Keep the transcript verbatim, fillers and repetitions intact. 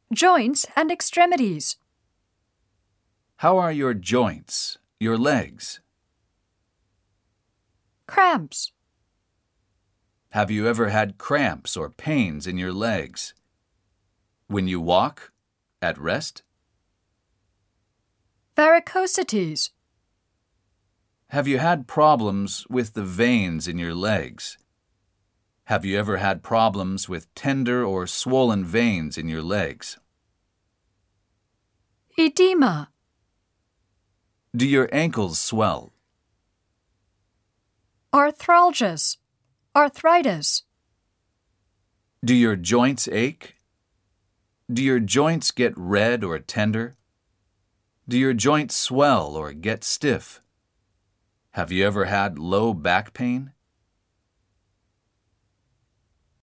Joints and extremities. How are your joints, your legs? Cramps. Have you ever had cramps or pains in your legs? When you walk, at rest? Varicosities. Have you had problems with the veins in your legs? Have you ever had problems with tender or swollen veins in your legs? Edema. Do your ankles swell? Arthralgias. Arthritis. Do your joints ache? Do your joints get red or tender? Do your joints swell or get stiff? Have you ever had low back pain?